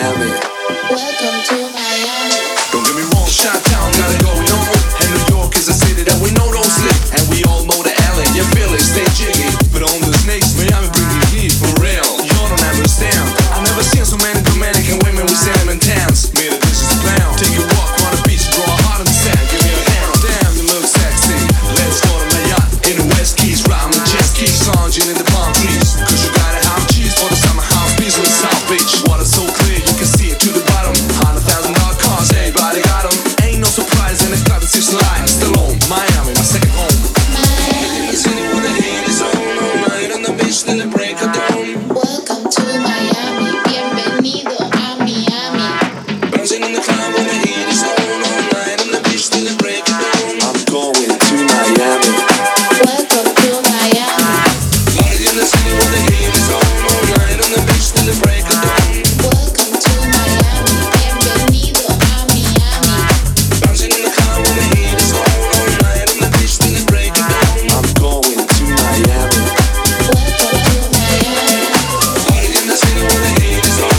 Miami. Welcome to Miami. Don't get me wrong, Chi-Town got it going on. And New York is a city that we know don't sleep. And we all know the LA, you feel it, stay jiggy. But on the snakes, Miami bring the heat for real. You don't understand. I never seen so many Dominican women with cinnamon tans. Made a delicious plan. Take a walk on the beach, draw a heart in the sand. Give me a hand, damn, you look sexy. Let's go to my yacht in the West Keys, riding the jet skis, lounging in the palm trees. Cause you gotta have cheese for the summer house breeze with South Beach. Water so clear, you can see it to the bottom. $100,000 cars, everybody got them. Ain't no surprise in the club, it's just life. Still home, Miami, my second home. Miami. The city where the heat is on, all night on the beach till the break of dawn. Welcome to Miami. Bienvenido a Miami. Bouncing in the club where the heat is on, all night on the beach till the break of dawn. I'm going to Miami. Welcome to Miami. Party in the city where the heat is on, all night on the beach till the break of dawn. Welcome to Miami. Bienvenido a Miami. Bouncing in the club where the heat is on, all night on the beach till the break of dawn. I'm going to Miami. Welcome to Miami. Party in the city where the heat is on.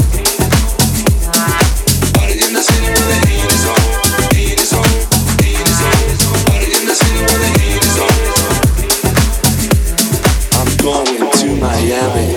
Party in the city where the heat is on. Heat is on. Heat is on. Party in the city where the heat is on. I'm going to Miami.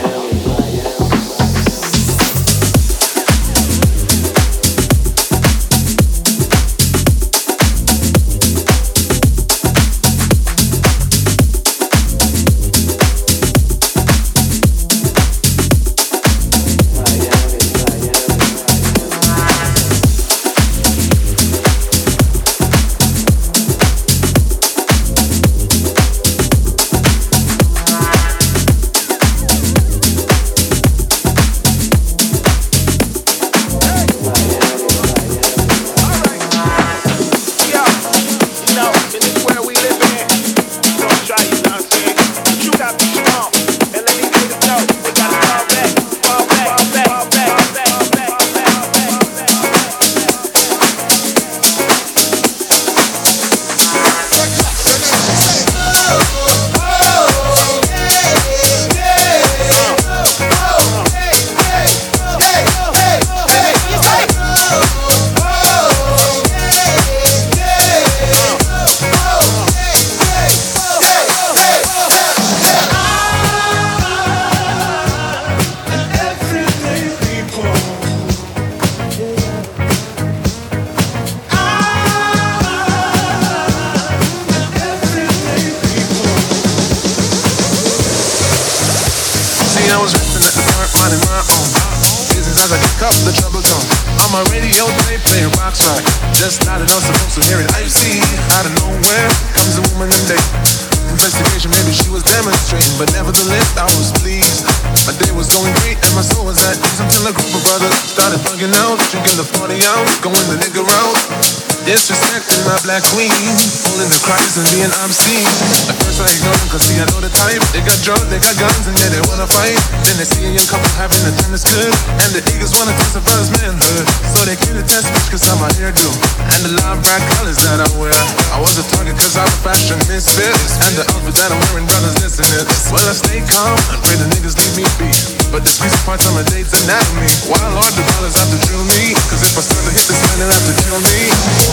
I was resting at the park, minding my own business as I kick up the trouble zone. On my radio, they play rock rock. Just not enough supposed to hear it. I see out of nowhere comes a woman and they investigation. Maybe she was demonstrating, but nevertheless I was pleased. My day was going great and my soul was at ease until a group of brothers started bugging out, drinking the party out, going the nigga route. Disrespecting my black queen, pulling the cries and being obscene. At first I ignored them cause see I know the type. They got drugs, they got guns and yeah they wanna fight. Then they see a young couple having a time that's good, and the eagles wanna test a brother's manhood. So they came to test me cause I'm a hairdo and the live bright colors that I wear. I was a target cause I'm a fashion misfit, and the outfit that I'm wearing, brothers listen it. Well I stay calm and pray the niggas leave me be, but the squeeze parts on my date's anatomy. Why Lord the brothers have to drill me, cause if I start to hit this man they'll have to kill me.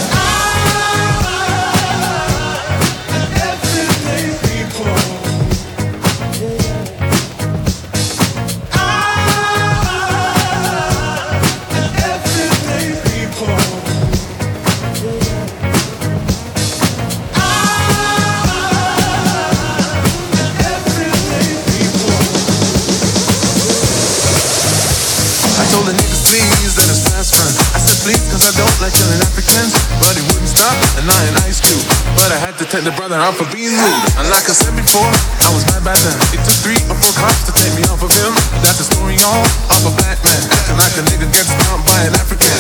Everyday people. Everyday people. Everyday people. I told the niggas please let us pass front. I said please cause I don't like killing Africans, but he wouldn't stop and I ain't Ice Cube. But I had to take the brother out for being rude. And like I said before, I was mad by then. It took 3 or 4 cops to take me off of him. That's the story all of a black man acting like a nigga gets stomped by an African.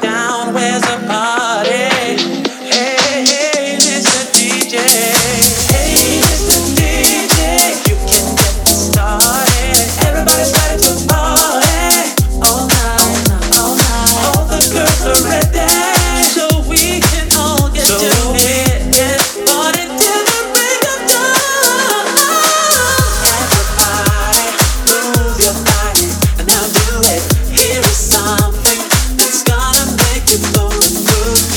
town, where's the party? Hey, hey, Mr. DJ. Hey, Mr. DJ, you can get this started. Everybody's ready to party all night, all night. All the girls are ready, so we can all get to it. Get party till the break of dawn. Everybody, move your body and now do it. Here is something that's gonna make you move and groove.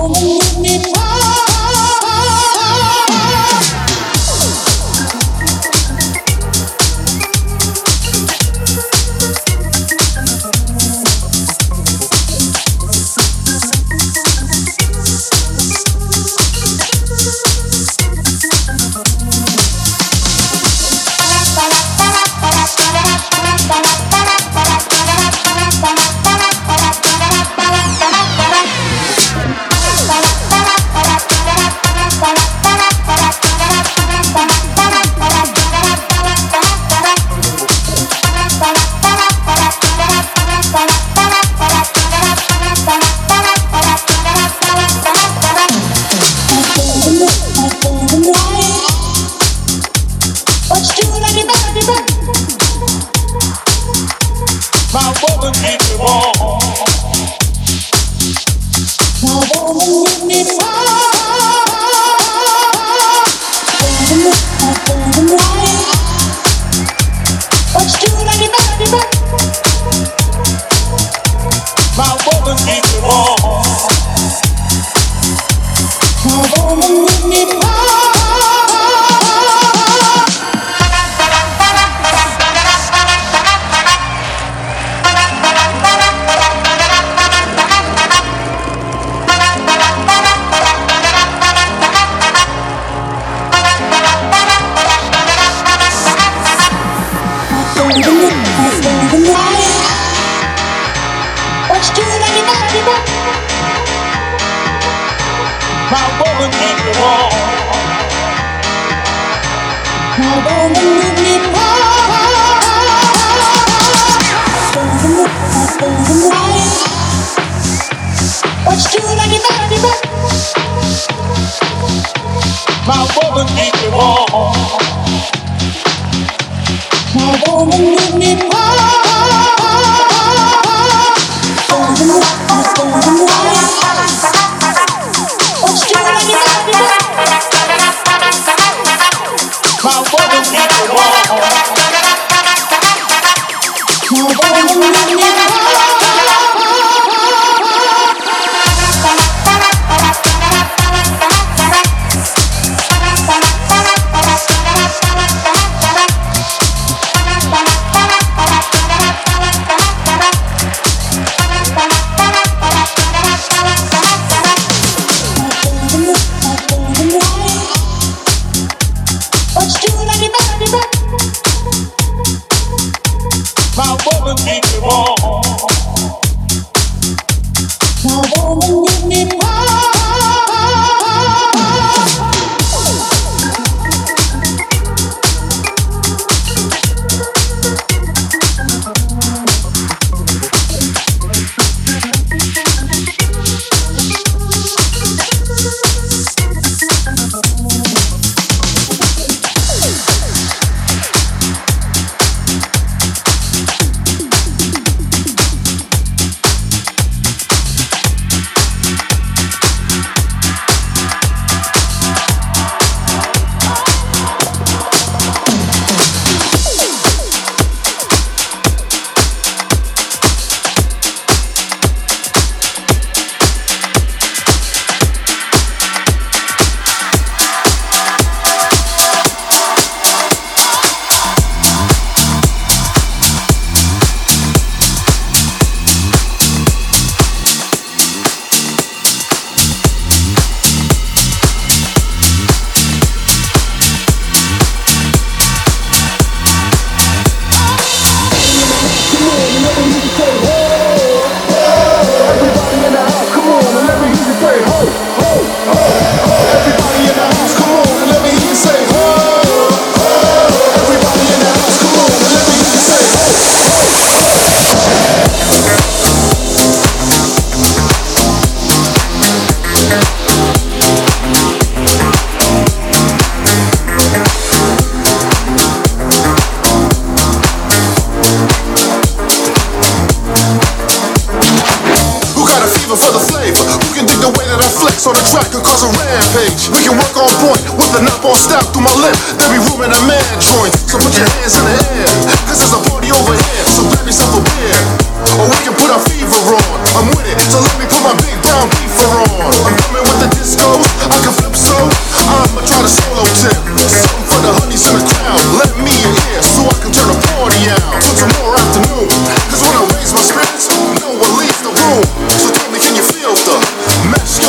So the track could cause a rampage. We can work on point with the knob on stop through my lip. There be room in a man joint, so put your hands in the air. Cause there's a party over here, so grab yourself a beer. Or we can put our fever on, I'm with it, so let me put my big brown beaver on. I'm coming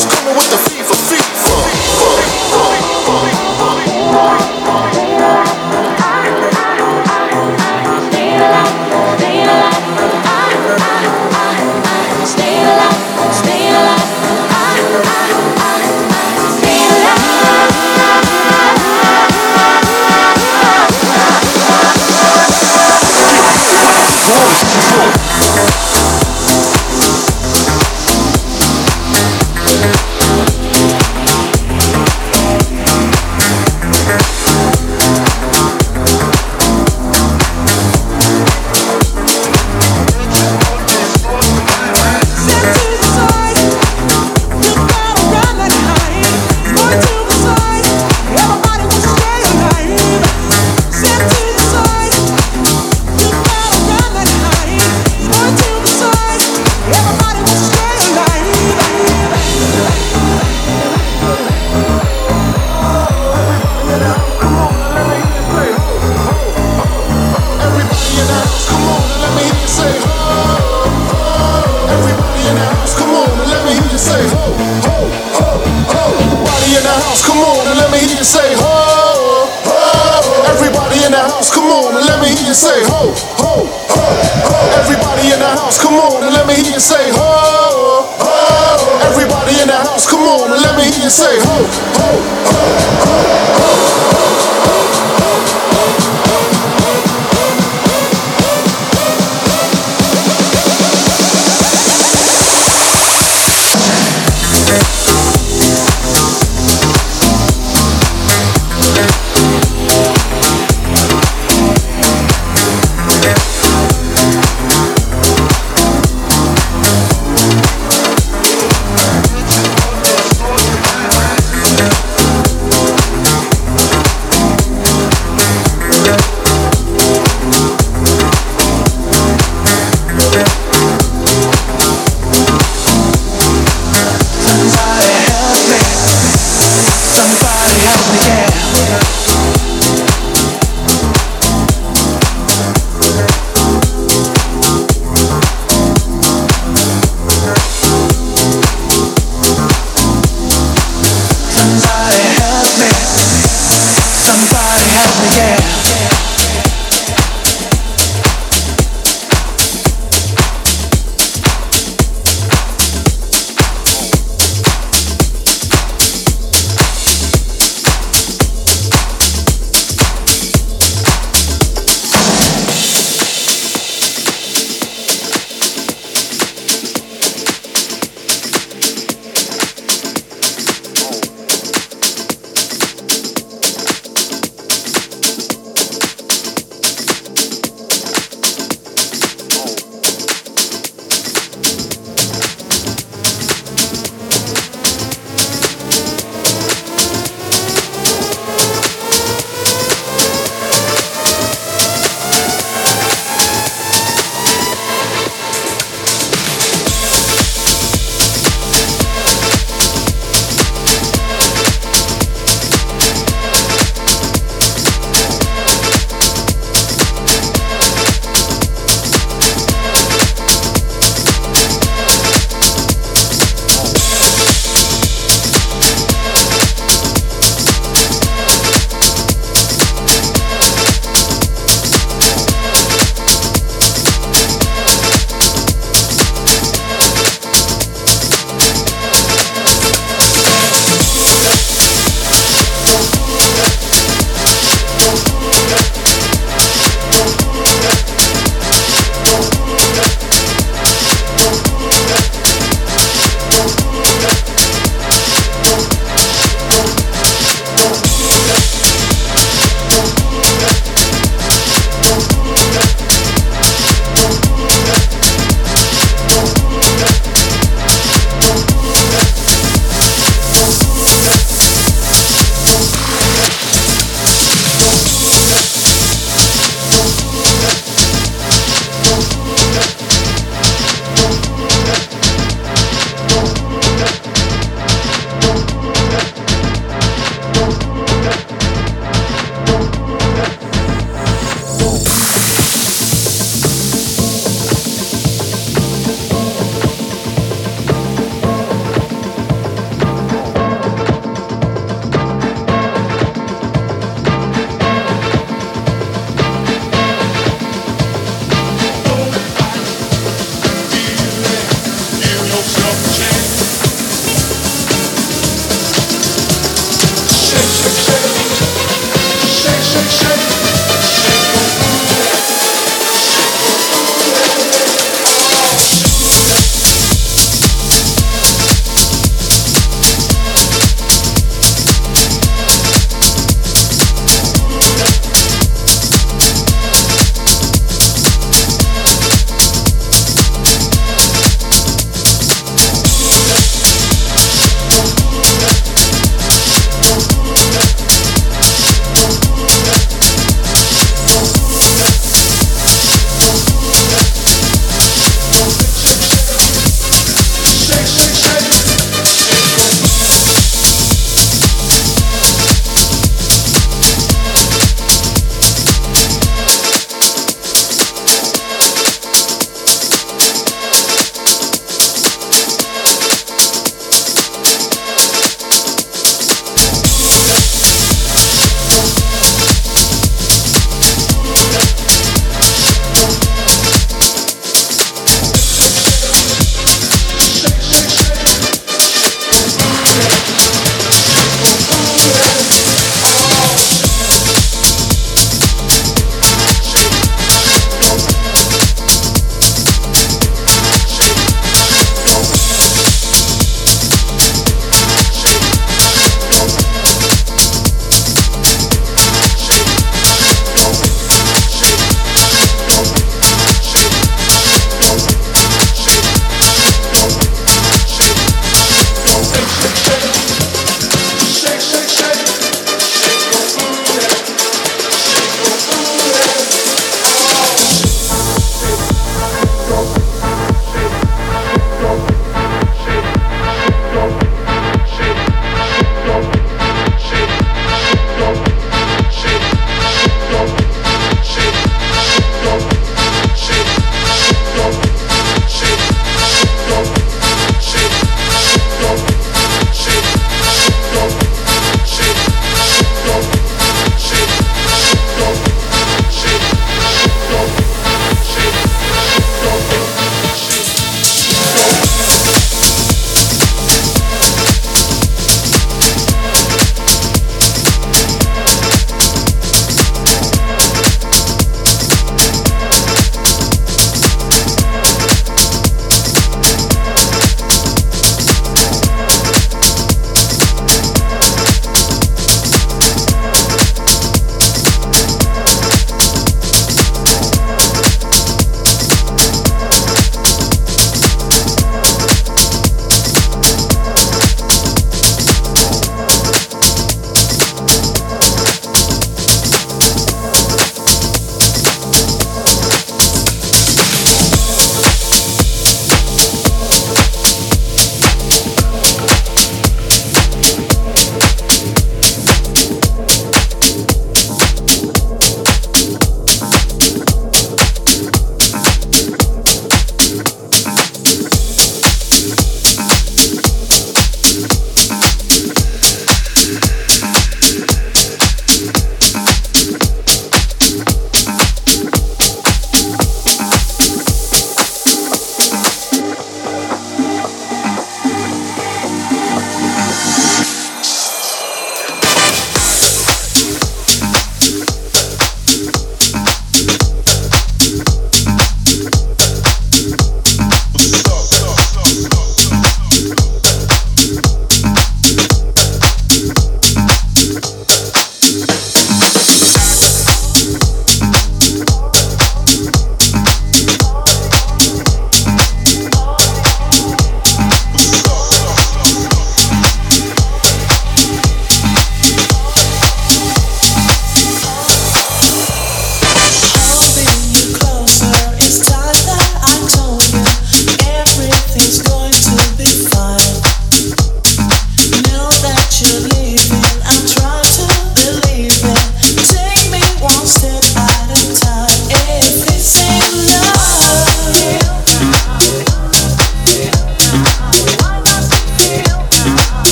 house, coming with the fever, fever.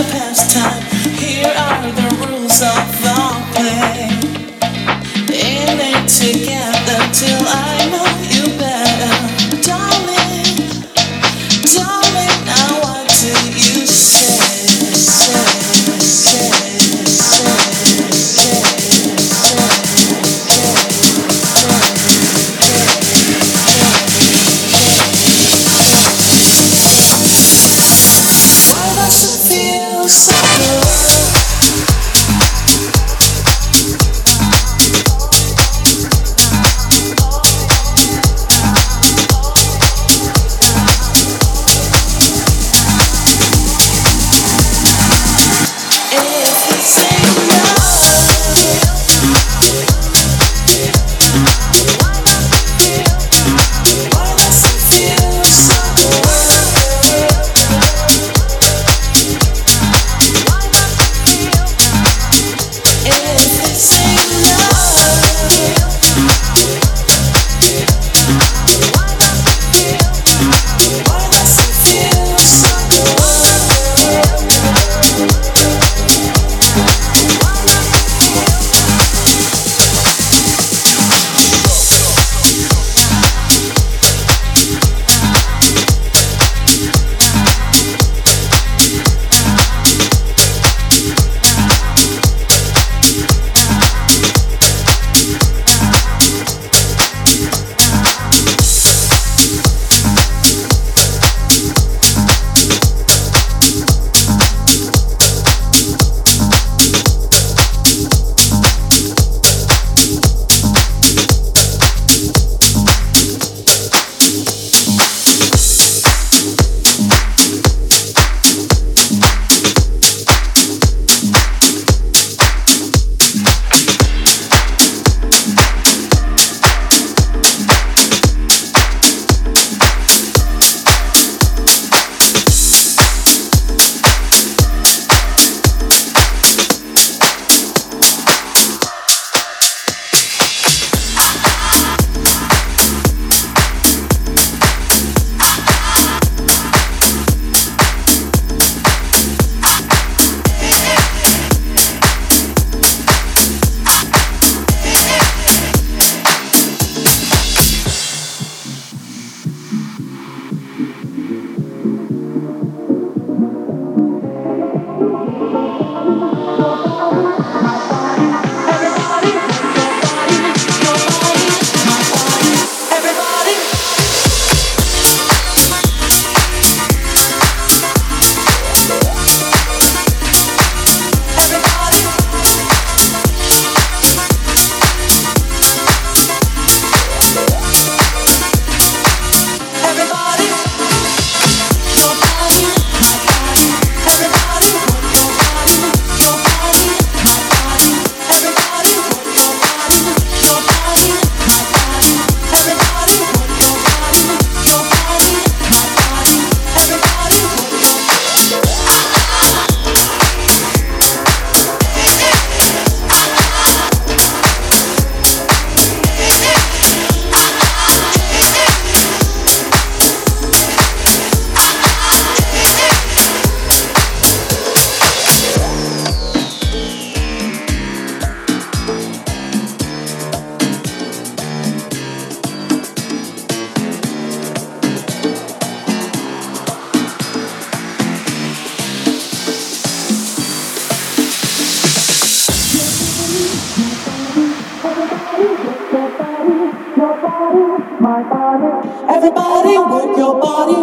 Everybody work your body,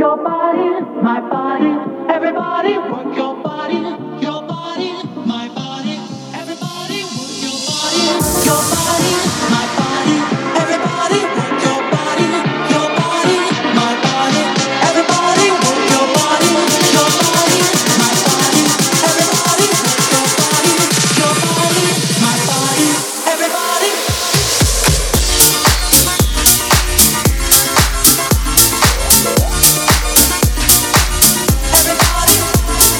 my body. Everybody work your body, my body. Everybody work your body, my body. Everybody work your body, my body. Everybody work your body, my body. Everybody work your body, my body. Everybody. Everybody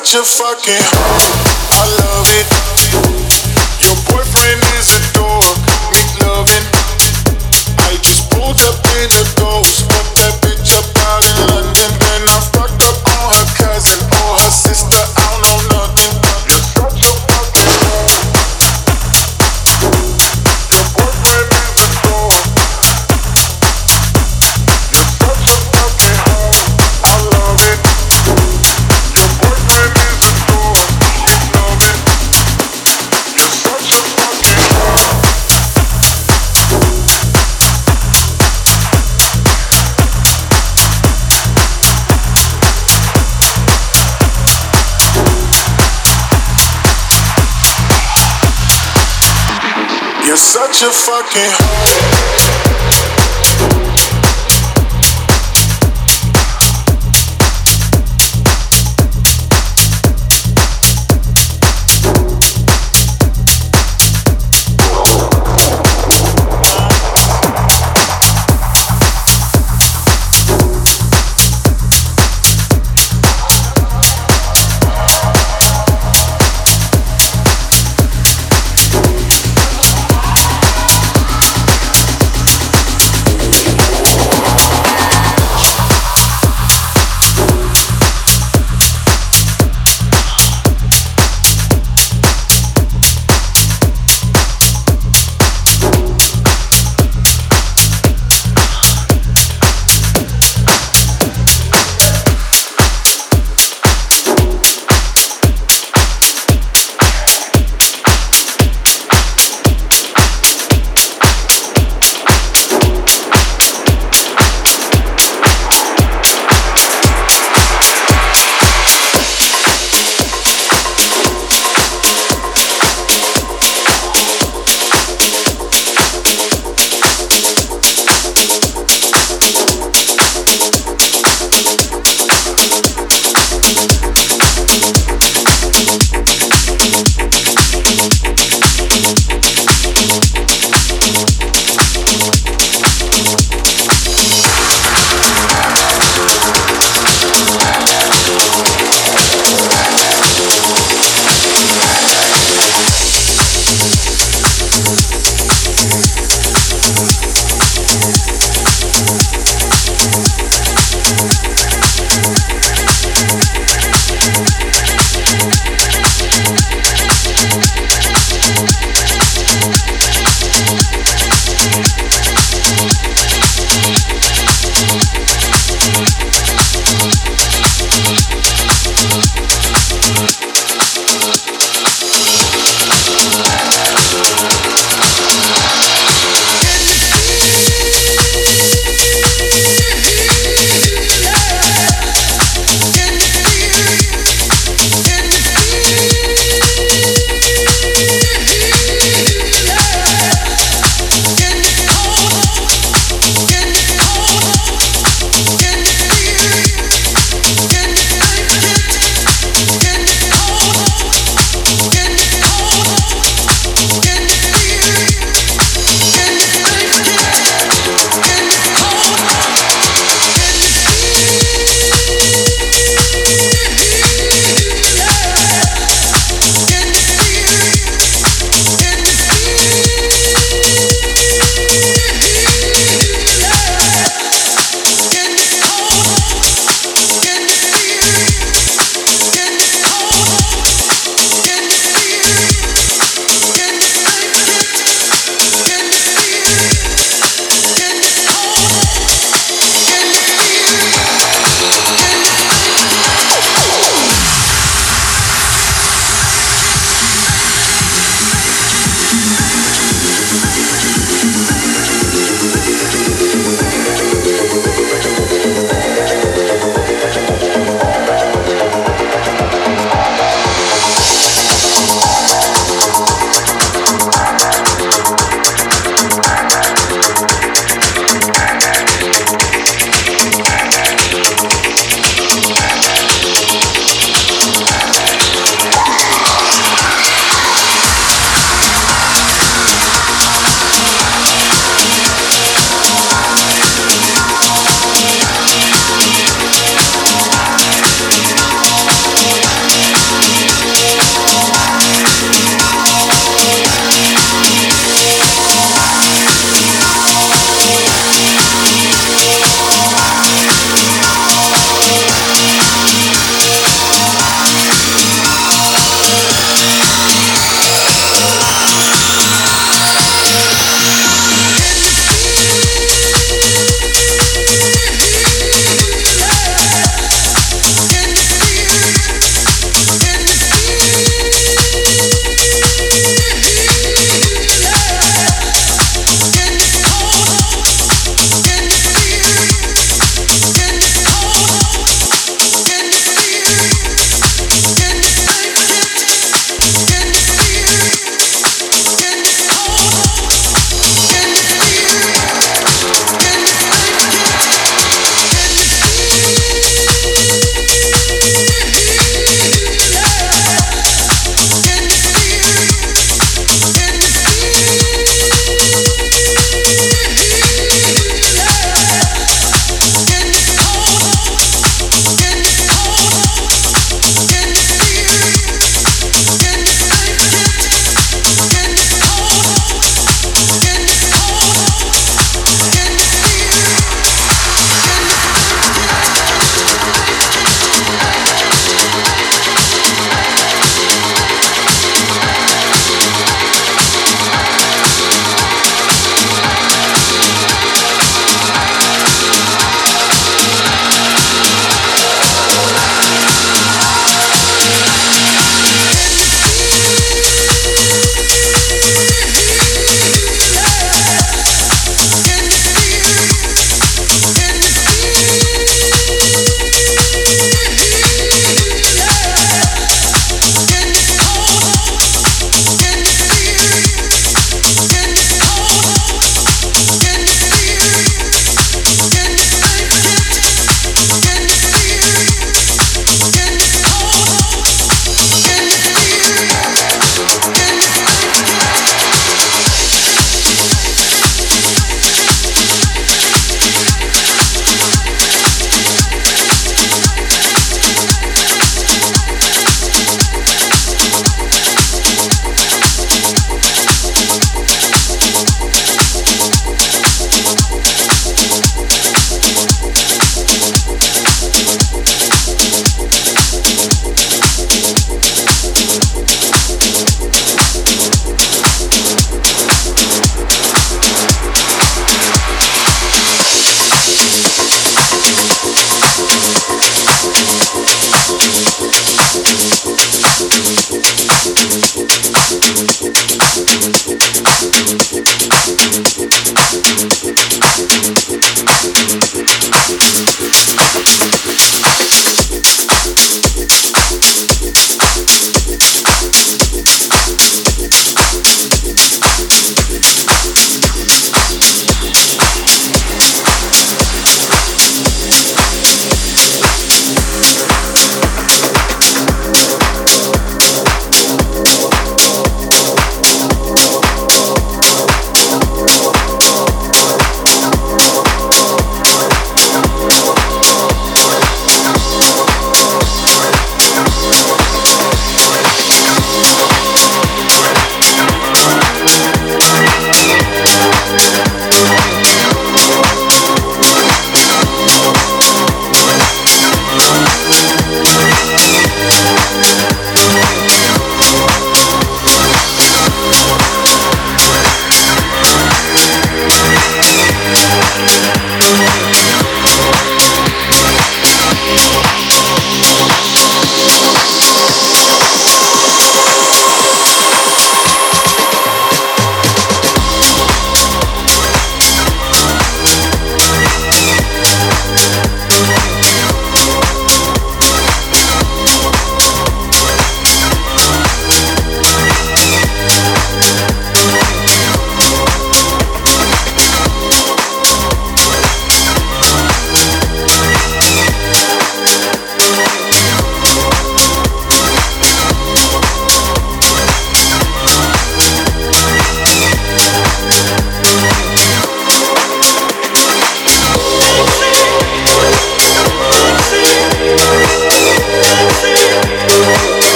such a fucking hoe. I love it. Your boyfriend is a dork. Make loving. I just pulled up in the ghost. Fucked that bitch up out in London. Then I fucked up on her cousin or her sister. I don't know nothing. You're such a fucking hoe. Your boyfriend is a dork. You're such a fucking hoe. I love it. Your boyfriend is a dork. Make loving. You're such a fucking hoe. You're such a fucking hoe.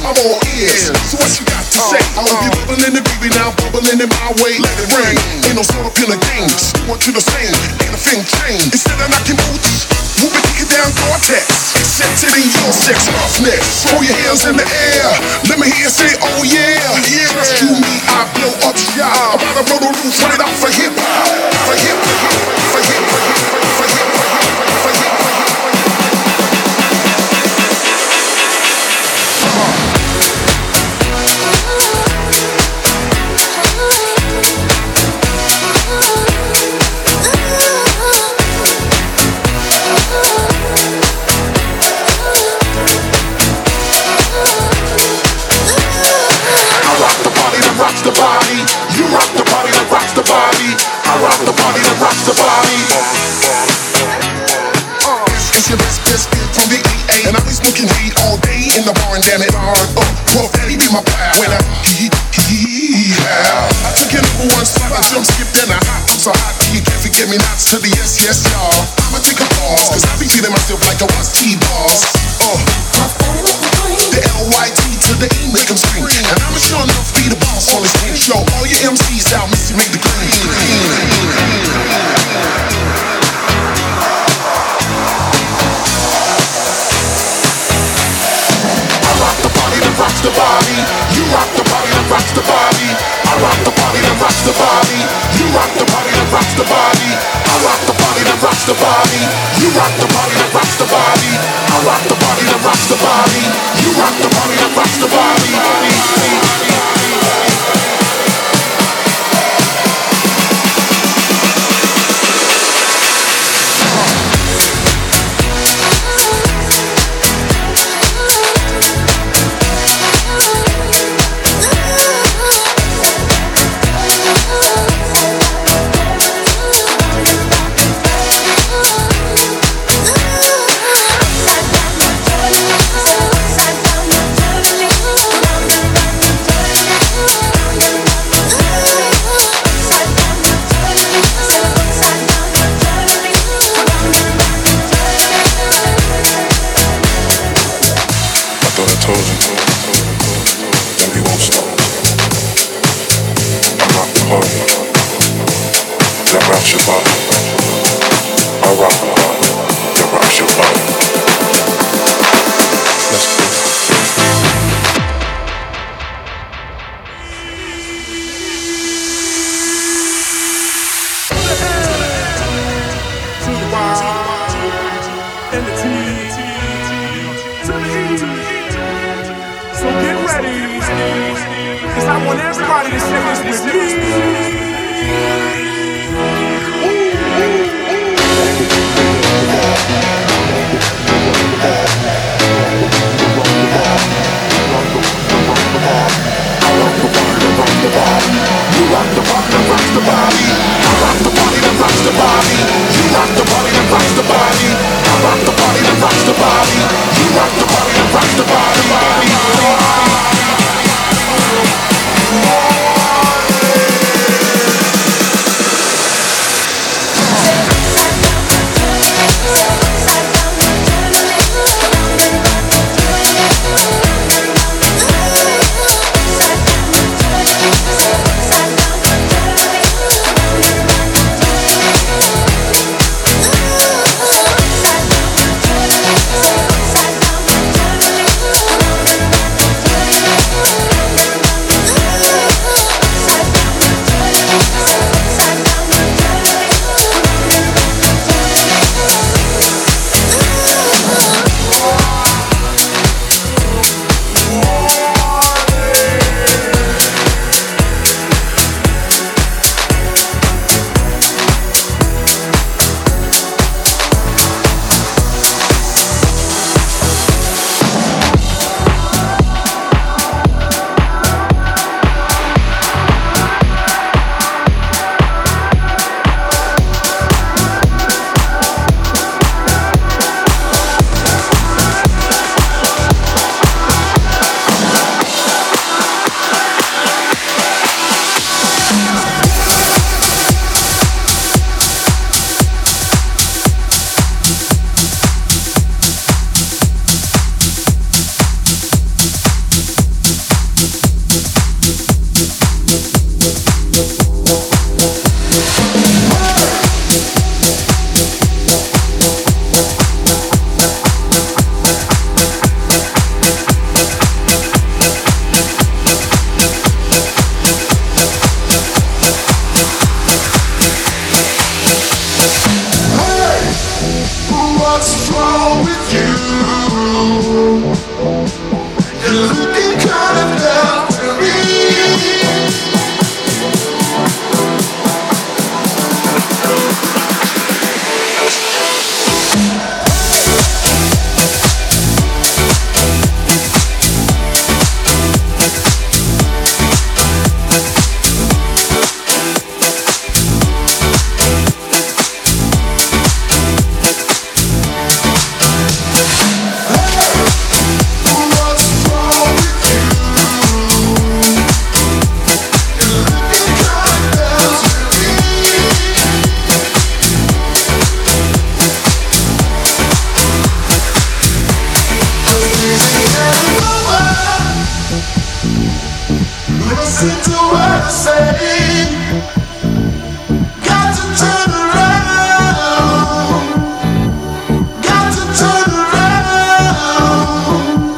I'm all ears. So what you got to say? I hope you bubbling and baby now, bubbling in my way. Let it rain. Ain't no sort of in the game. Just want you the same. Ain't a thing change. Instead of knocking boots, we'll be kicking down Gore-Tex. Accepted in your sex roughness. Throw your hands in the air. Let me hear you say, oh yeah. Trust you me, I blow up shop. I'm about to blow the roof right off for hip hop. For hip hop. For hip hop. For hip hop. For hip hop. Rocks the body, you rock the body that rocks the body. I rock the body that rocks the body. It's your best biscuit from the EA, and I be smoking weed all day in the bar and damn it, well, daddy be my pal. When I took your number one spot, I jump skipped in a hot. I'm so hot, you can't forget me not to the yes, yes, y'all. I'ma take a pause, cause I be feeling myself like I was T-Boss. The L-Y-T to the E make them scream. And I'ma sure enough be the boss on this game show. All your MCs out, Missy make the green. I rock the body that rocks the body. You rock the body that rocks the body. I rock the body that rocks the body. You rock the body that rocks the body. I rock the body that rocks the body. You rock the body that rocks the body. I rock the body that rocks the body. You rock the body that rocks the body. What's wrong with you? You're looking kind of down to me. Listen to what I say. Got to turn around. Got to turn around.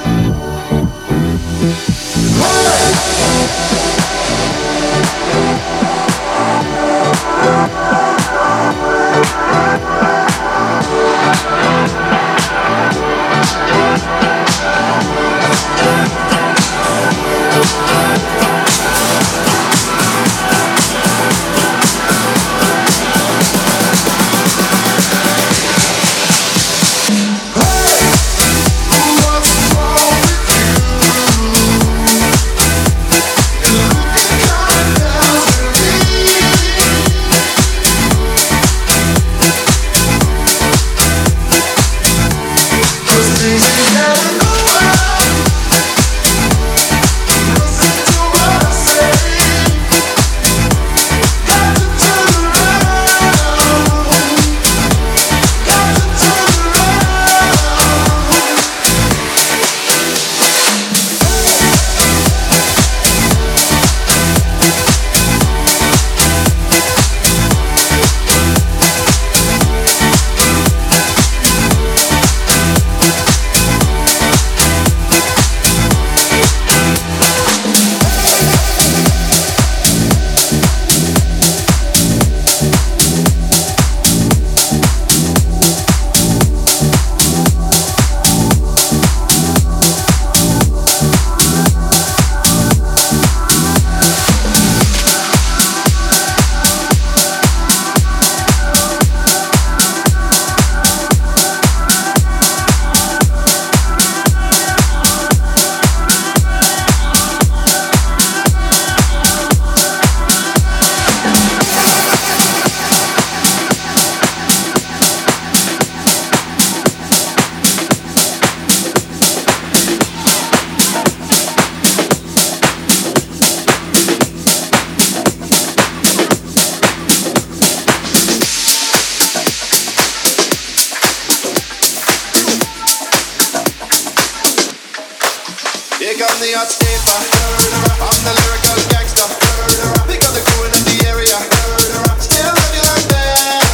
Here come the hot stepper. I'm the lyrical gangster. Pick up the crew in the area. Still love you like that.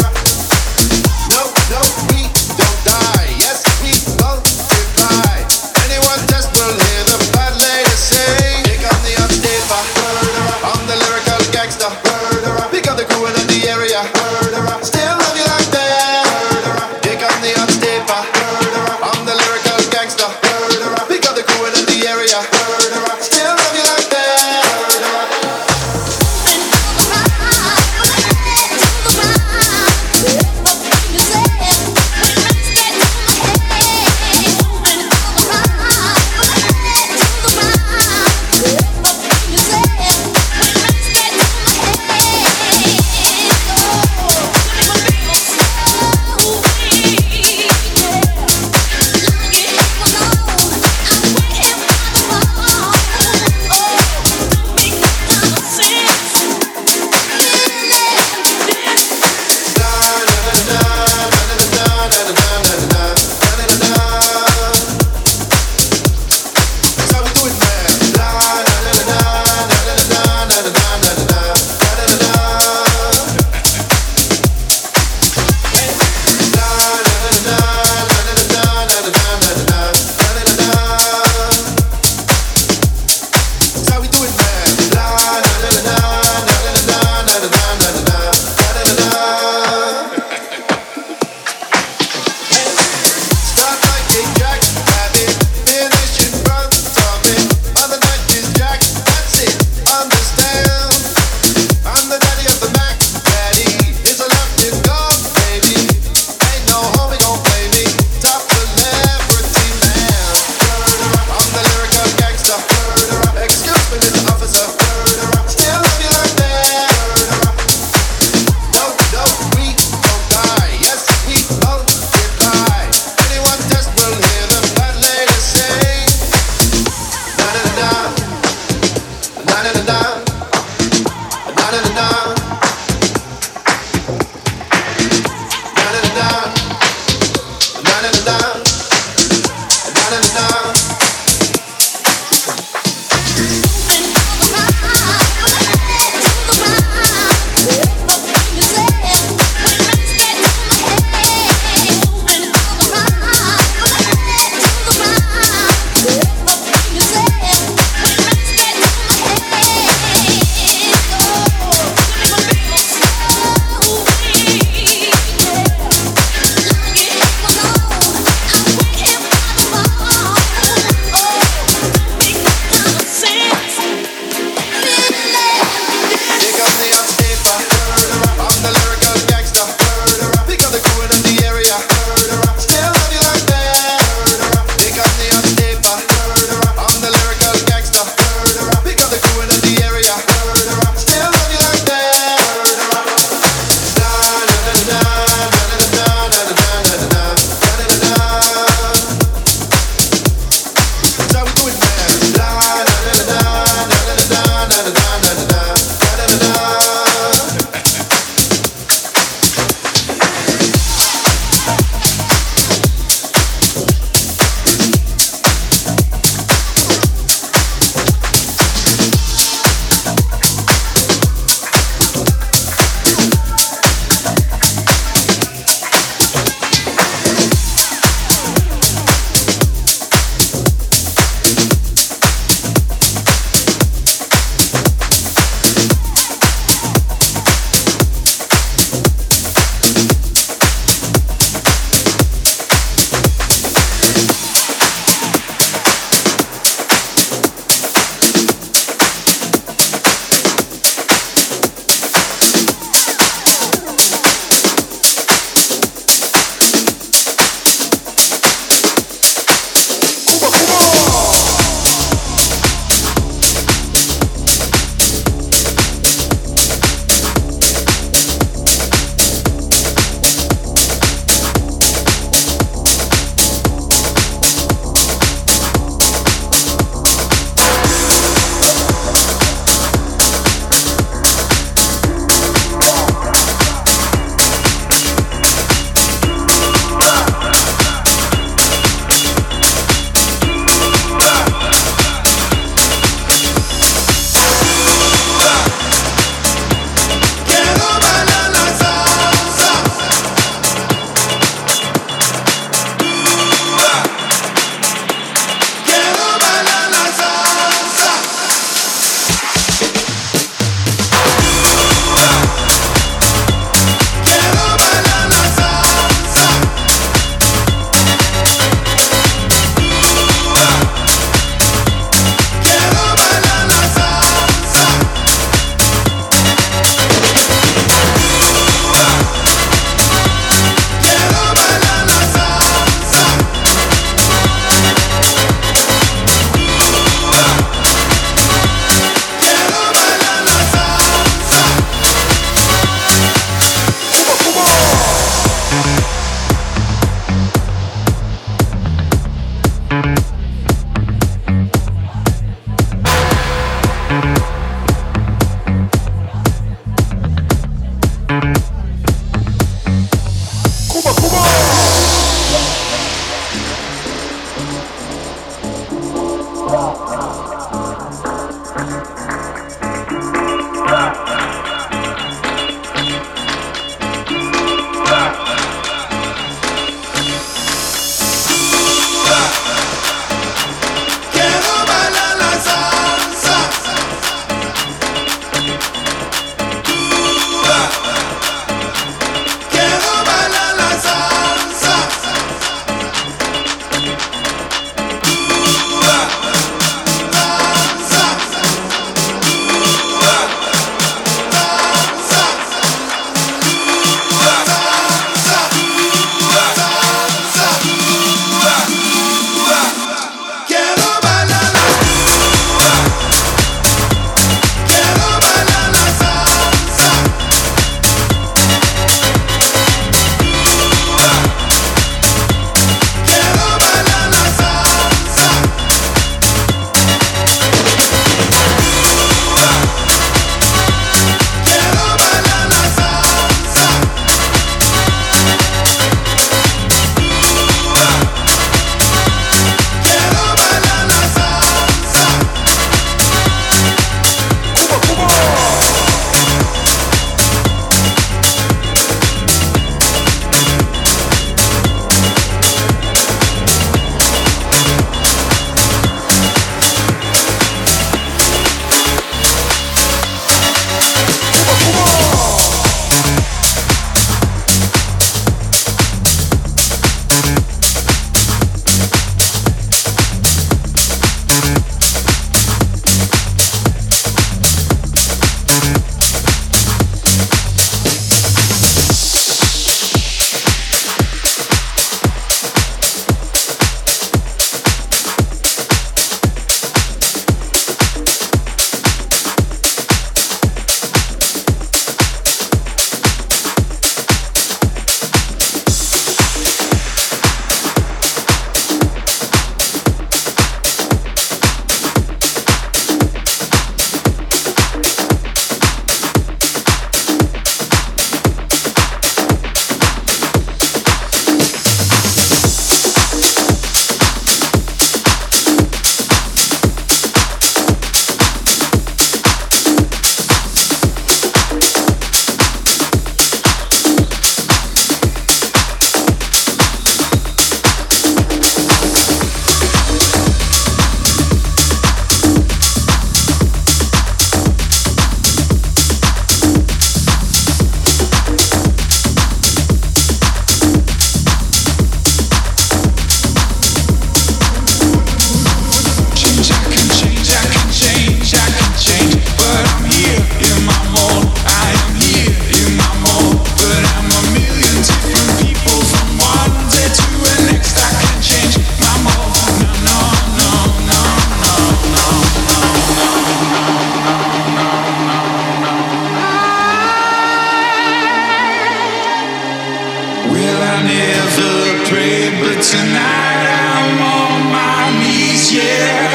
No, no, we don't die. Yes, we multiply. Anyone test will hear the bad lady say. Here come the hot stepper. I'm the lyrical gangster. Pick up the crew in the area. Still love you like that. Here come the hot stepper. I'm the lyrical gangster. Pick up the crew in the area. Still love you like that. I never prayed, but tonight I'm on my knees, yeah.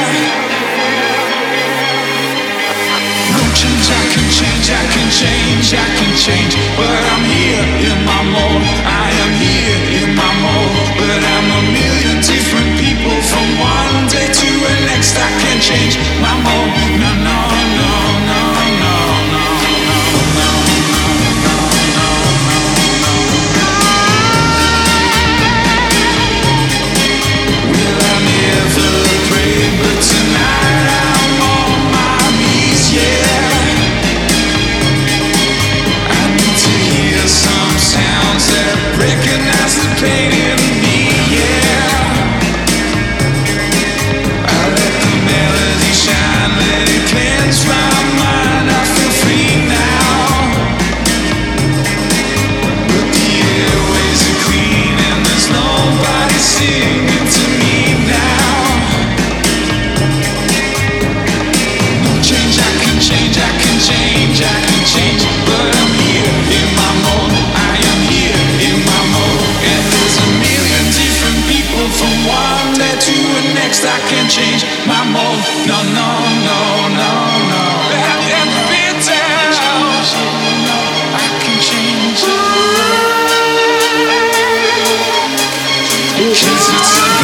No change, I can change, I can change, I can change, but I'm here in my mode. I am here in my mode, but I'm a million different people from one day to the next. I can't change my mode. No, no, no, no, no, no, no, no, no, no, no, no. Well, I never prayed, but tonight I'm on my knees, yeah. I need to hear some sounds that recognize the pain in me, yeah. I let the melody shine, let it cleanse my mind. I feel free now. But the airways are clean and there's nobody singing to me now. No change, I can change, I can change, I can change, but I'm here in my mode. I am here in my mode, and there's a million different people from one day to the next. I can change my mode. No, no, no, no, no. Have you ever been down? I can change. 'Cause it's a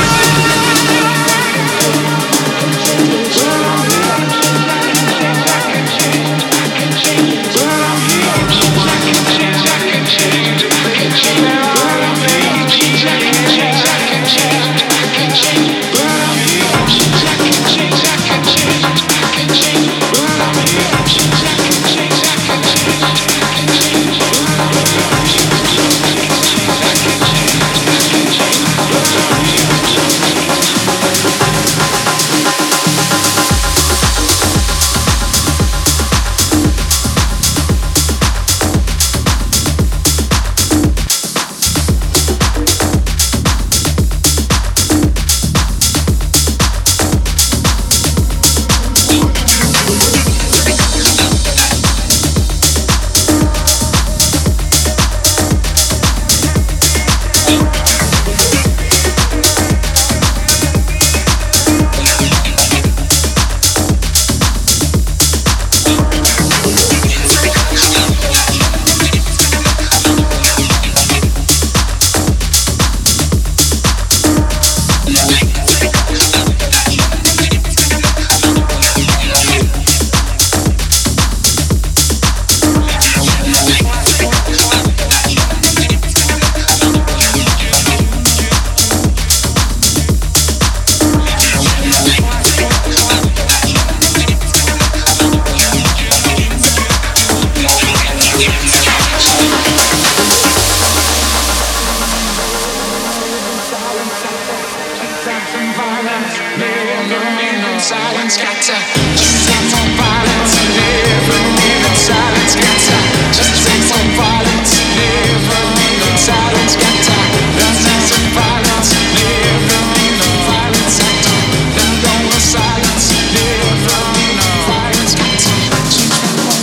silence, got to just take some violence, live and live in silence, got to just take some violence, live and live in silence, got to just take some violence, live and live in violence, got to let go of silence, live and live in violence, got to change my mind.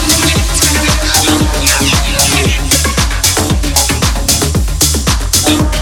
No.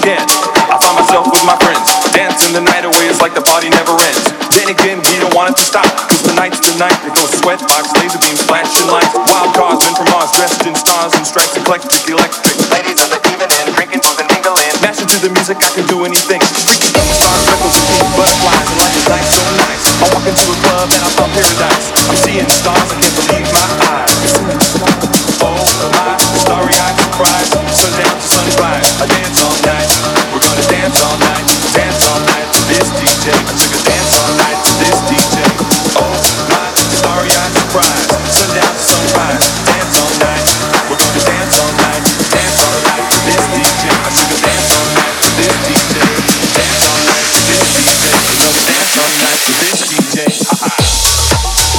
again. I find myself with my friends, dancing the night away, it's like the party never ends. Then again, we don't want it to stop, cause tonight's the night that goes sweatbox, laser beams, flashing lights. Wild cars, men from Mars, dressed in stars and stripes, eclectic. Ladies of the evening, drinking, moving, mingling. Mashing through the music, I can do anything. Freaking stars, freckles, and pink butterflies, and life is nice, so nice. I walk into a club and I found paradise. I'm seeing stars, I can't believe my eyes. Oh my, starry-eyed surprise. Sundown to sunrise, I dance all night. We're gonna dance all night to this DJ. I took a dance all night to this DJ. Oh my, starry-eyed surprise. Sundown to sunrise, dance all night. We're gonna dance all night to this DJ. I took a dance all night to this DJ. Dance all night to this DJ. We're gonna dance all night to this DJ. Ha ha.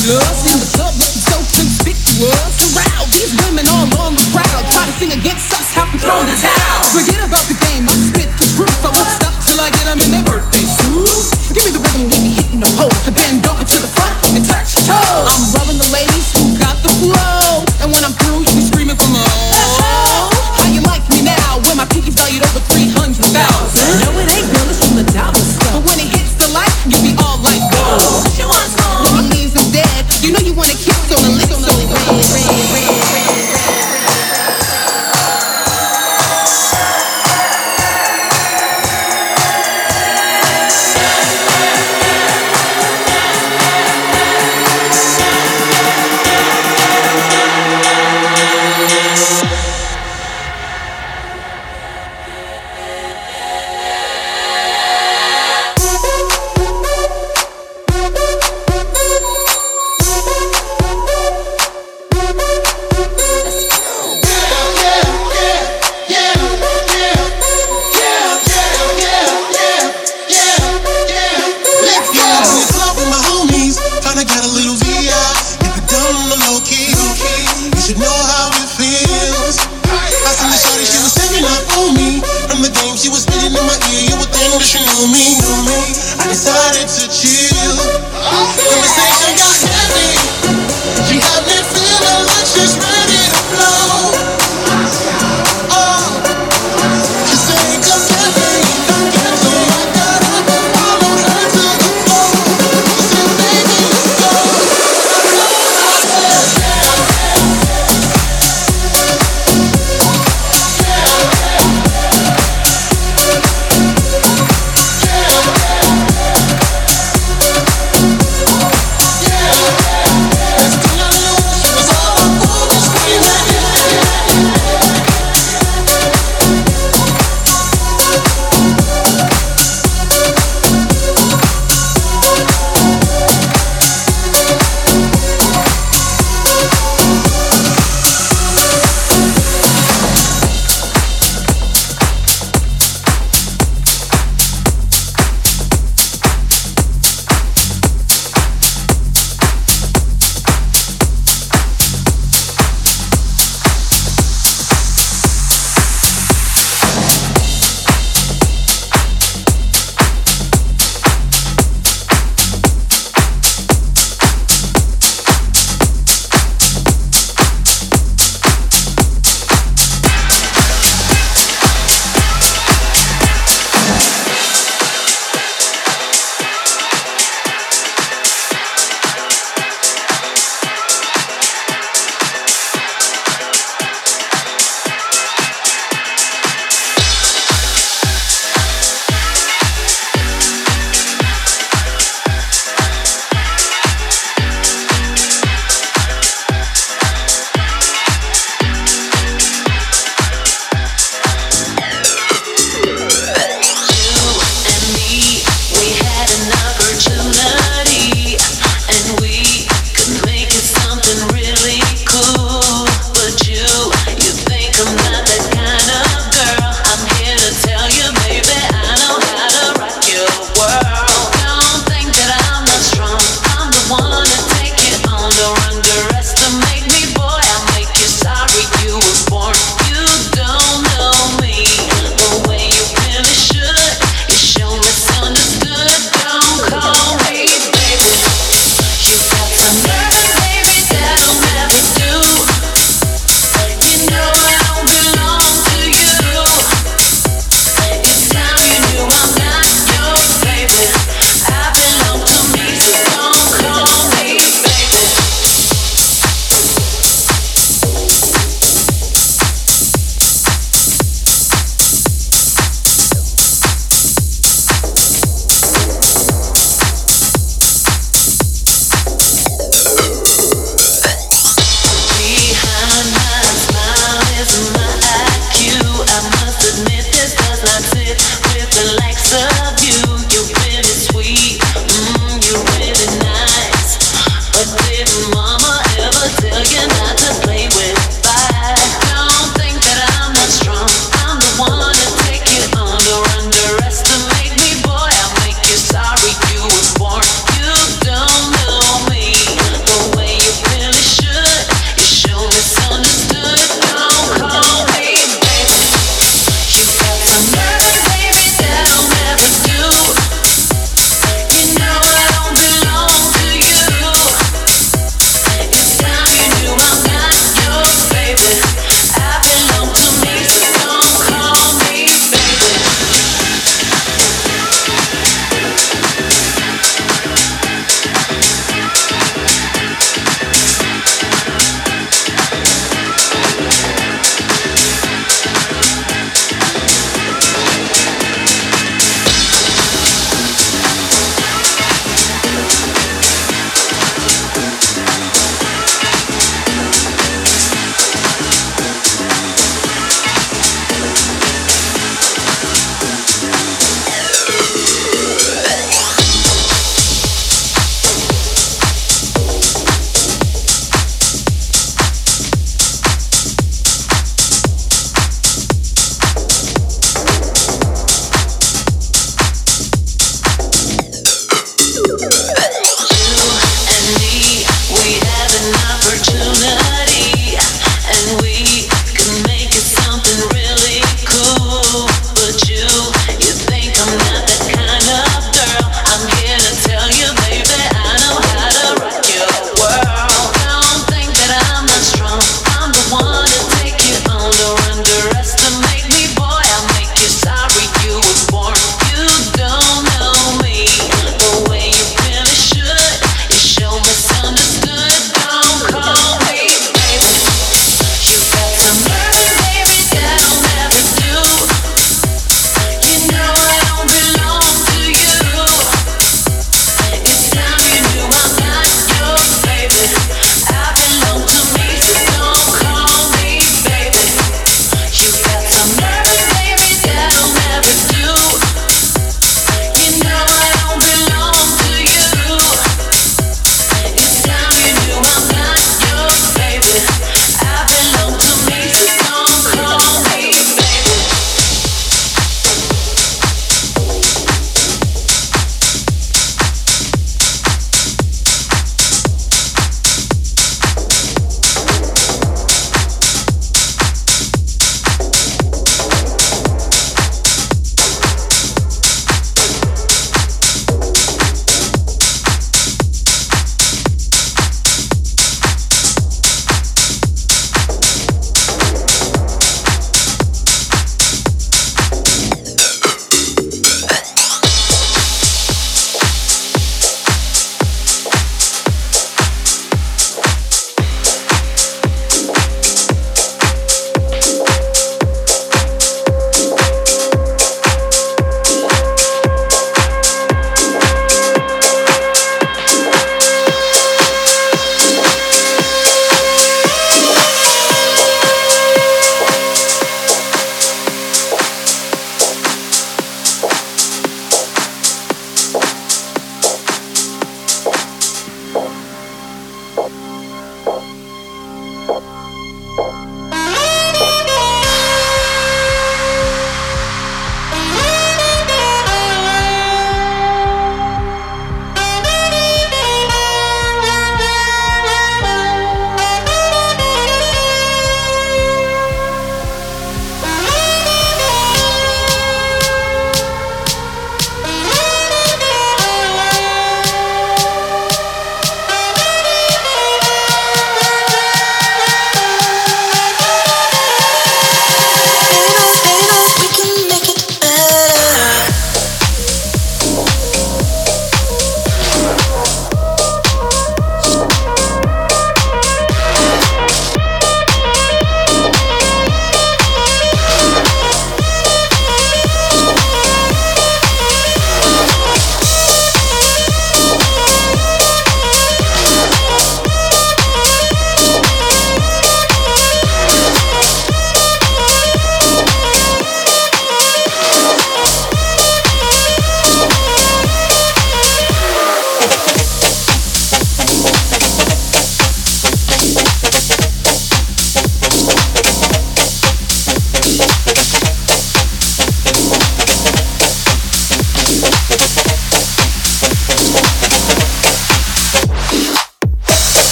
us in the club looking so conspicuous. Around these women all on the crowd, try to sing against us, have them thrown the towel. Forget about the game, I spit the truth. I won't stop till I get them in their birthday suit. Give me the rhythm, get me hitting the hole, and then go to the front and touch your toes. I'm rubbing the ladies who got the flow, and when I'm through, you be screaming for more. How you like me now, when my pinky's valued over 300,000? No, it ain't real, it's from the dollar stuff. But when it hits the light, you be all like, whoa. When he leaves them dead, you know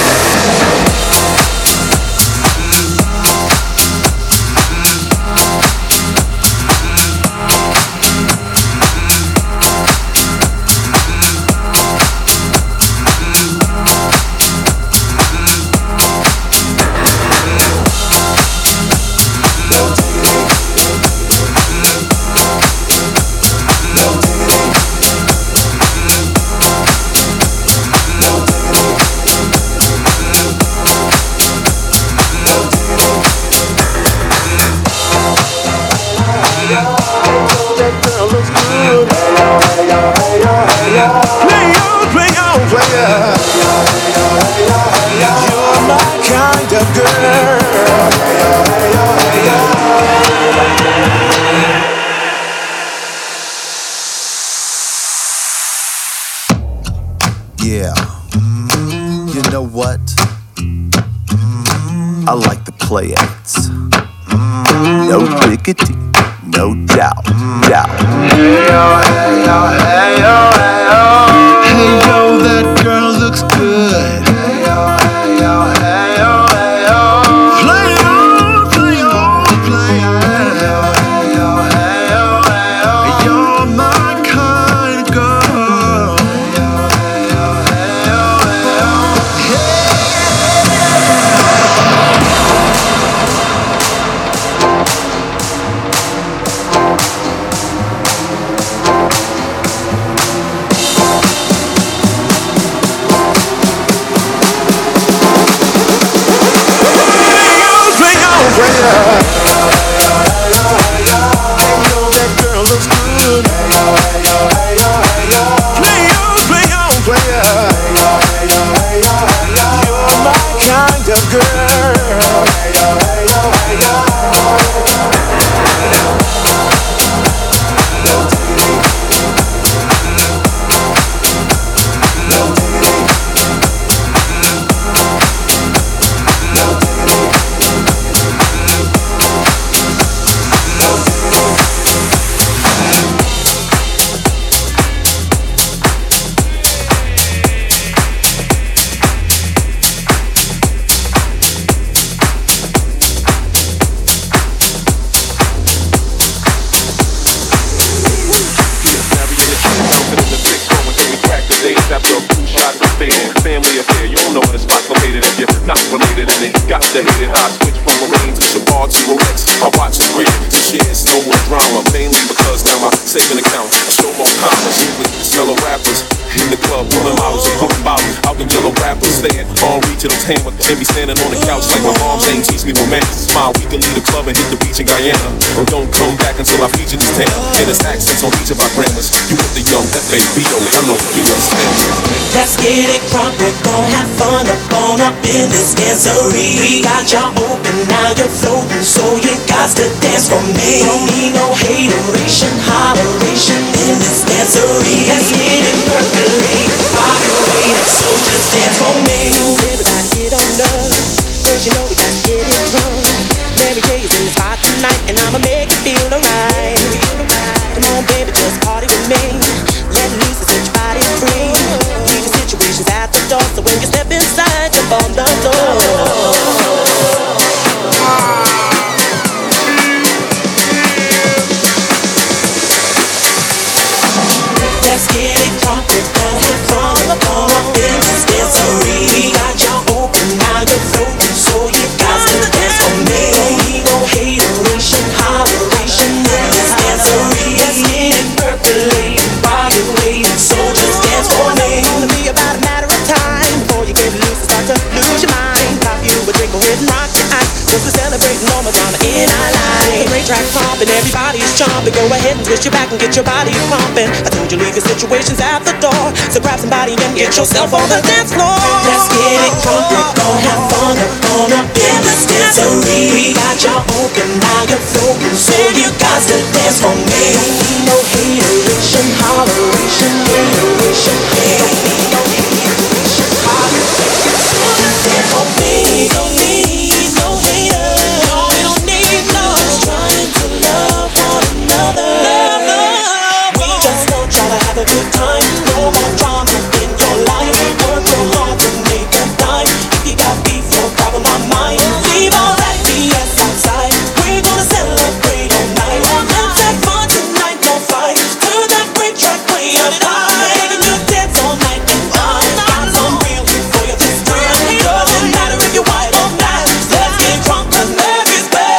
Yeah, you know what? I like the playouts. No diggity, no doubt. Hey yo, hey yo, hey yo, hey yo. Hey yo, that girl looks good. Hey yo, hey yo, hey yo, hey yo. Play on, play on, play on. Hey yo, hey yo, hey yo, hey yo. You're my kind of girl. Hey yo, hey yo, hey yo, hey yo. Out in yellow rappers stand on reach to those hammer and be standing on the couch like my moms ain't teach me romance. Smile, we can leave the club and hit the beach in Guyana, or don't come back until I feature this town. And there's accents on each of our grammars. You with the young, that baby, hello, you understand? Let's get it crunk, we're gon' have fun up in this dancery. We got you open, now you're floating, so you got to dance for me. Don't need no hateration, holleration in this dancery. Let's get it percolate, fire away, so just dance for me. Everybody get on up, cause you know we gotta get it drunk. Mary J's in the spot tonight, and I'ma make you feel alright. Come on baby, just party with me. Let loose and set your body free. Leave the situations at the door, so when you step inside, jump on the floor. Let's get it crunk, we're gonna have fun up in this dancery. We got you open, now you're floating, so you got to dance for me. Don't need no hateration, holleration in this dancery. Let's get it percolating, while you're waiting, so just dance for me. It's gonna be about a matter of time before you get loose and start to lose your mind. Pop you a drink, go ahead and rock your eyes, cause we're celebrating all the drama in our life. Great track pumping, everybody's jumping. Go ahead and twist your back and get your body pumping. I told you leave your situations at the door, so grab somebody and get yourself on the dance floor. Let's get it crunk, we're gon' have fun up in this dancery. We got you open, now you're floating, so you got to dance for me. Don't need no hateration, holleration, hateration. Don't need no hateration, holleration, so just dance for me. Don't need no haters, no, we don't need no. Just trying to love one another. We just don't try to have a good time. No more drama in your life. Work real hard to make a dime. If you got beef, no problem on mine. Leave all that BS outside. We're gonna celebrate all night. Let's have fun tonight, don't fight. Turn that great track way up high. Making you dance all night and I got some real for you this time. Doesn't matter if you're white or black. Let's get drunk 'cause love is back.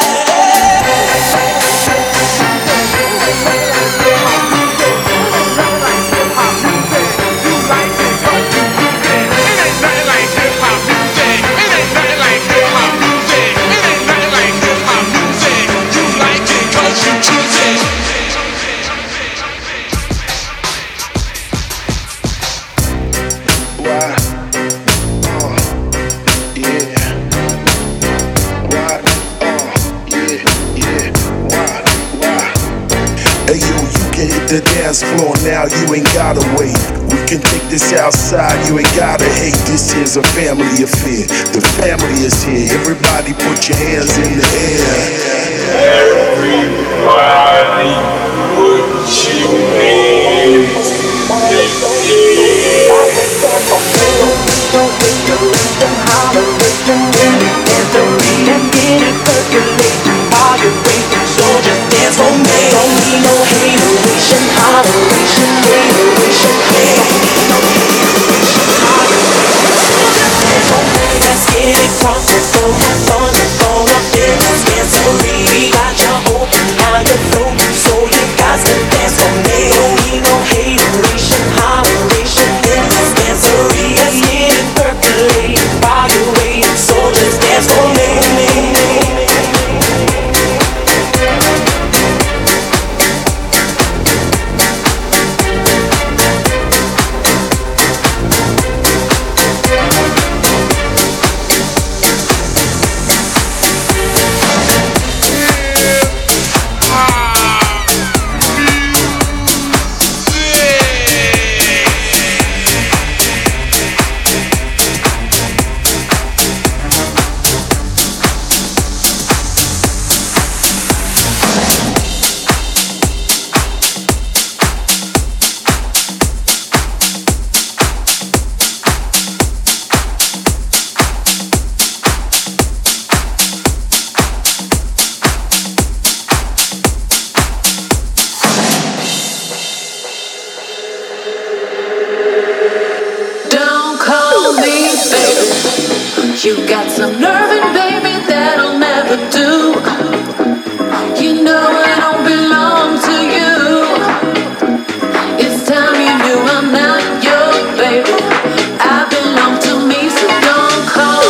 Hey yo, you can hit the dance floor now, you ain't gotta wait. We can take this outside, you ain't gotta hate. This is a family affair, the family is here. Everybody put your hands in the air. Everybody put your hands So just dance for me. Don't need no hateration, holleration, hateration. Don't need no hateration, holleration. So just dance for me. Let's get it crunk, we're gon' have fun up in this dancery. We got you open, now you're floating, so you got to dance for me. Don't need no hateration, holleration in this dancery. Let's get it percolating while you're waiting, so just dance for me. You got some nerve, baby, that'll never do. You know I don't belong to you. It's time you knew I'm not your baby. I belong to me, so don't call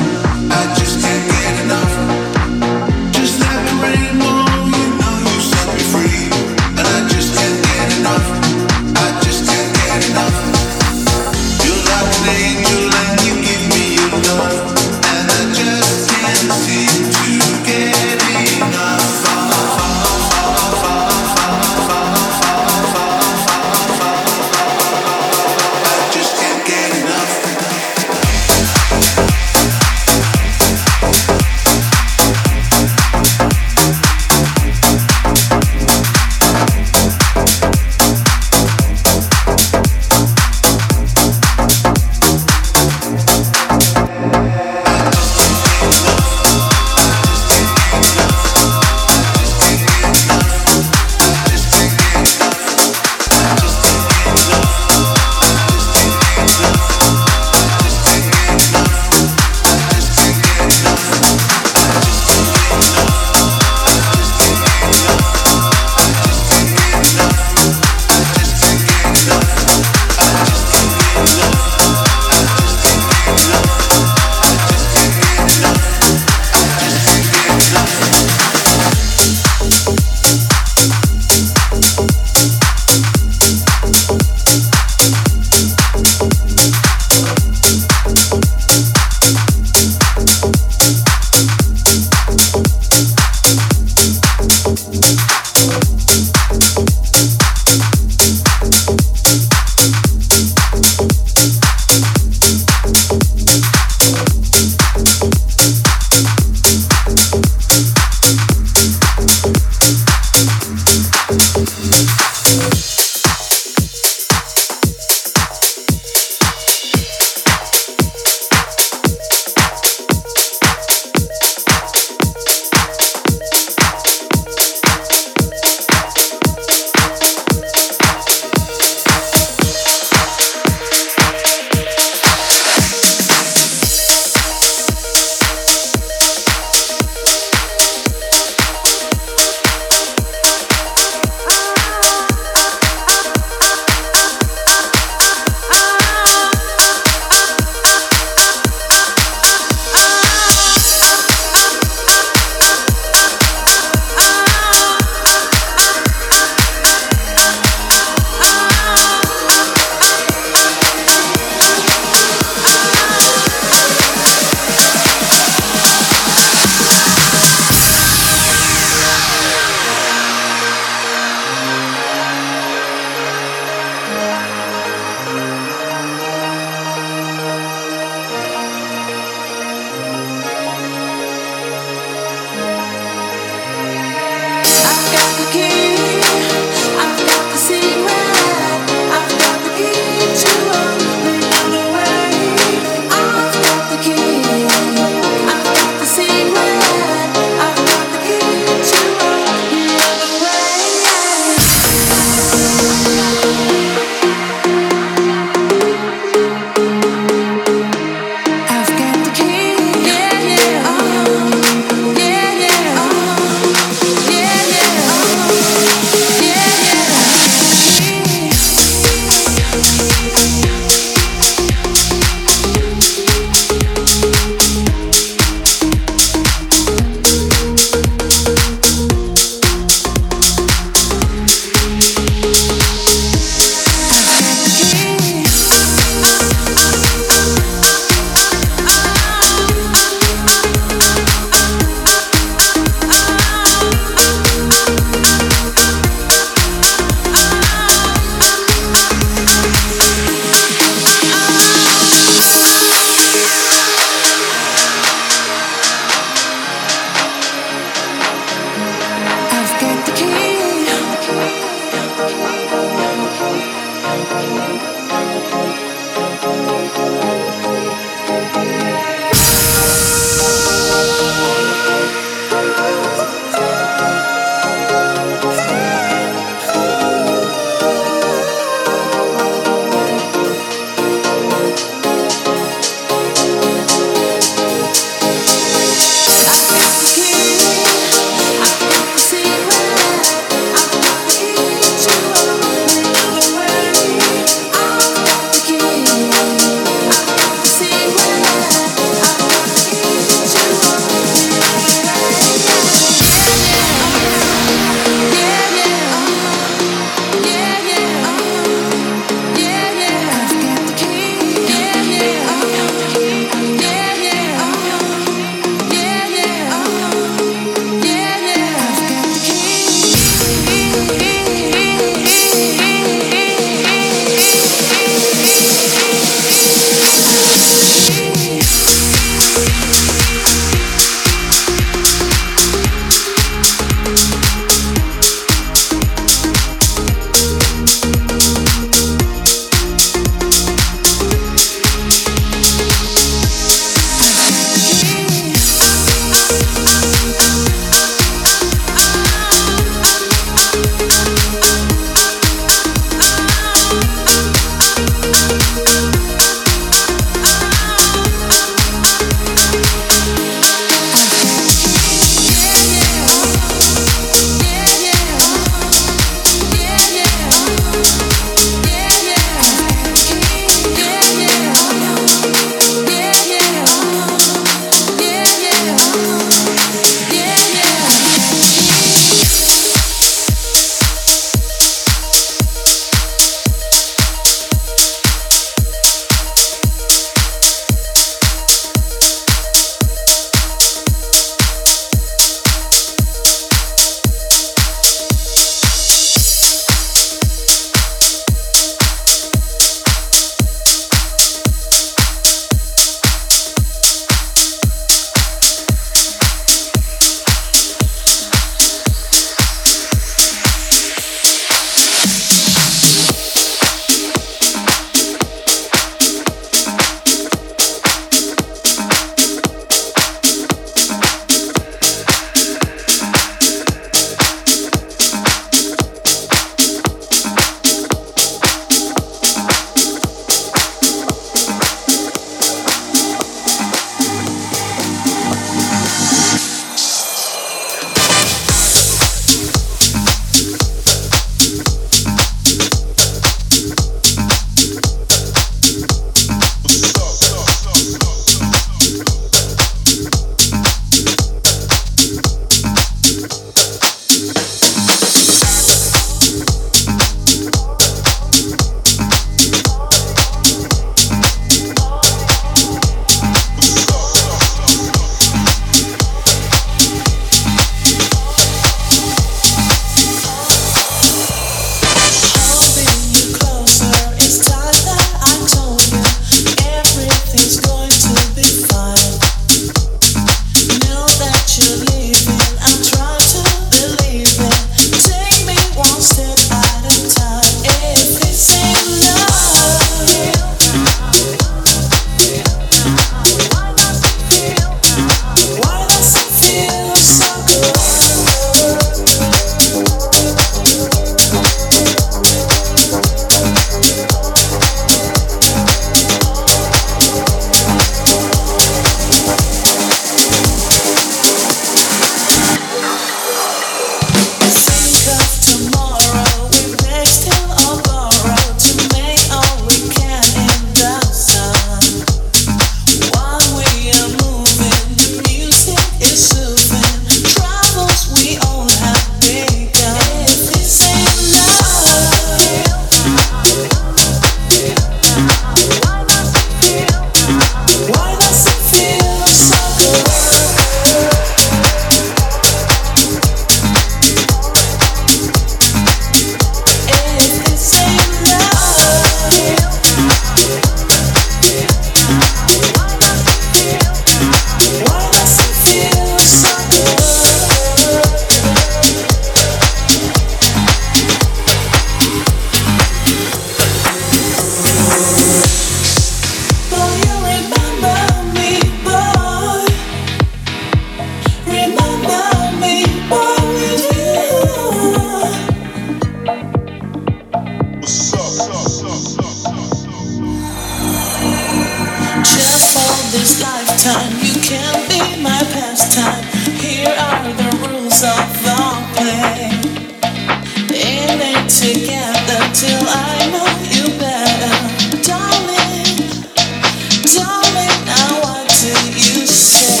time. You can be my pastime. Here are the rules of our play. In it together till I know you better. Darling, darling, now what do you say?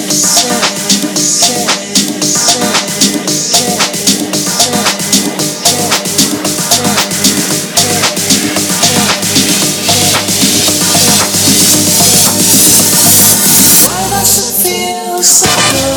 Why does it feel so good?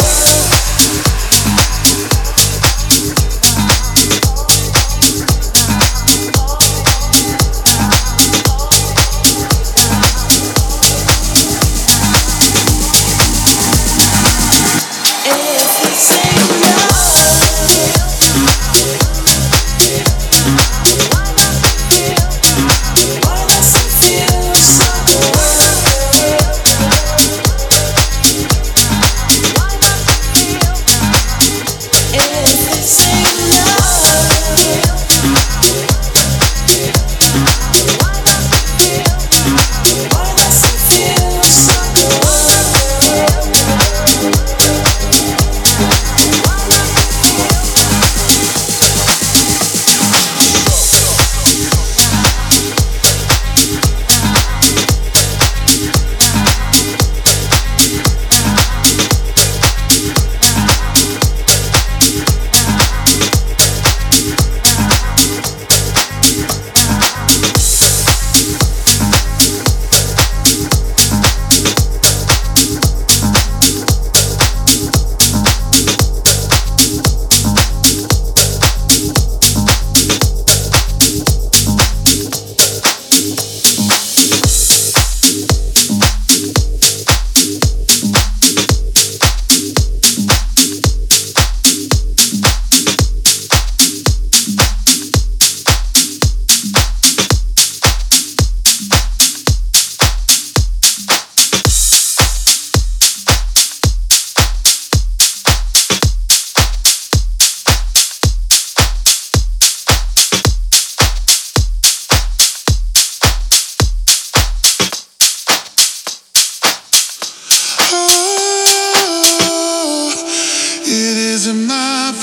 My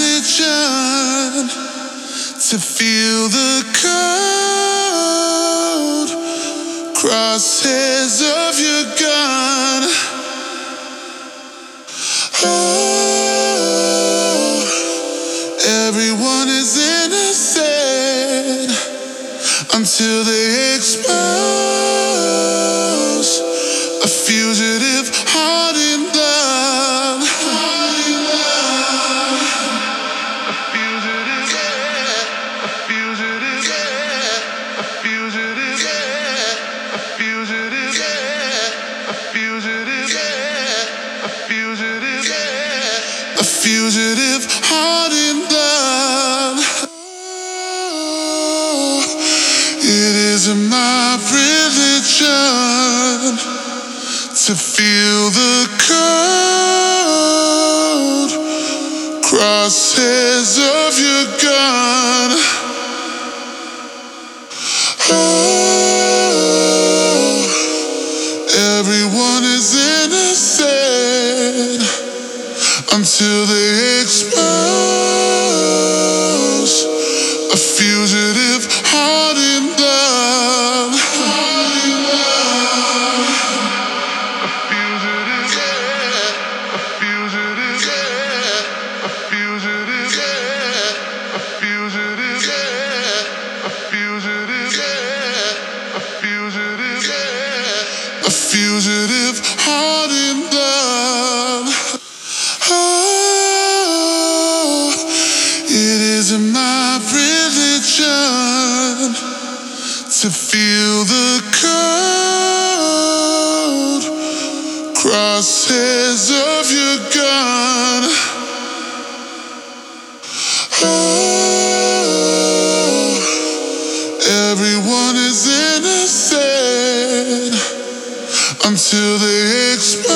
religion to feel the cold crosshairs of your gun. Oh, everyone is innocent until they expose a fugitive heart in love. Fugitive heart in love. Oh, it is my religion to feel the cold crosshairs of your gun. Oh, everyone is innocent until they expose a fugitive heart in love. A fugitive, a fugitive, a fugitive, a fugitive, a fugitive, a fugitive, a fugitive heart in love. Oh, it is my religion to feel the cold crosshairs of your gun. Oh, everyone is innocent until they expose